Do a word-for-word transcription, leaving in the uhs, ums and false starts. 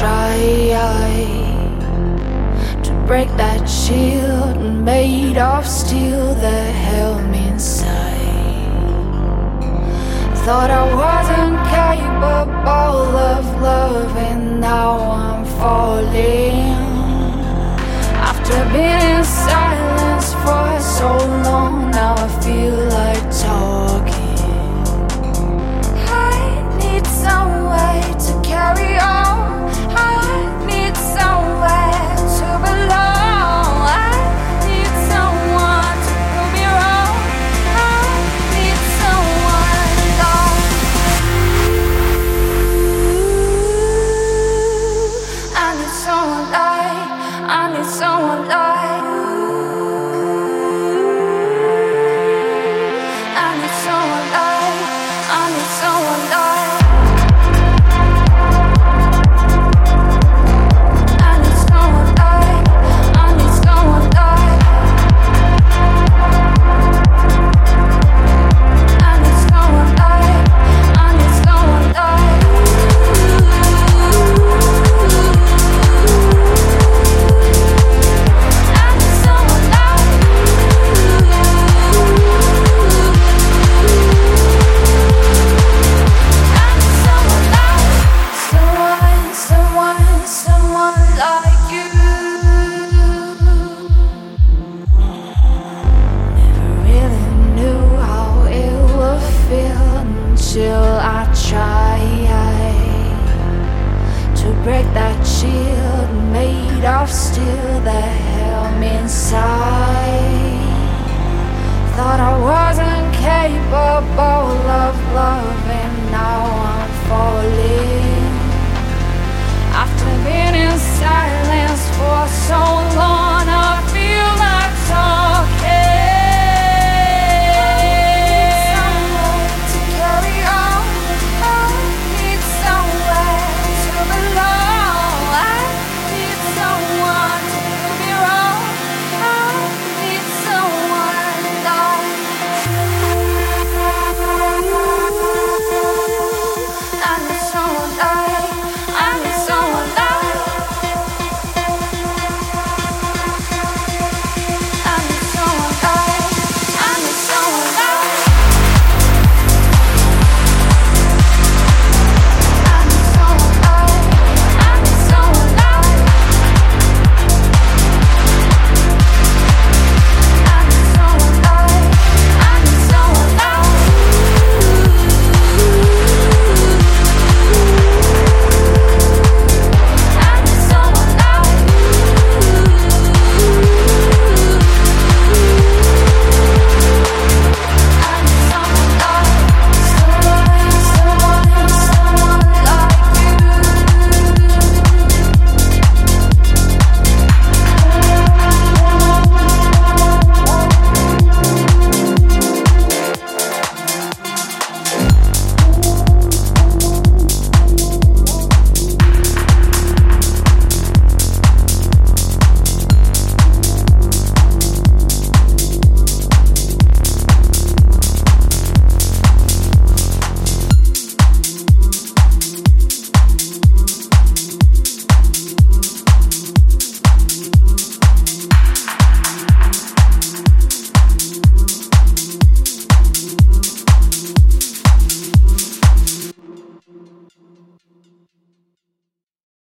try to break that shield made of steel that held me inside. Thought I wasn't capable of loving, now I'm falling. After being in silence for so long, now I feel like talking. I need somewhere to carry on. I need somewhere to belong. I need someone to prove me wrong. I need someone long. I need someone like, I need someone like you. I need someone like, I need someone like. Till I try to break that shield made of steel that held me inside. Thought I wasn't capable of loving, now I'm falling. After being in silence for so long,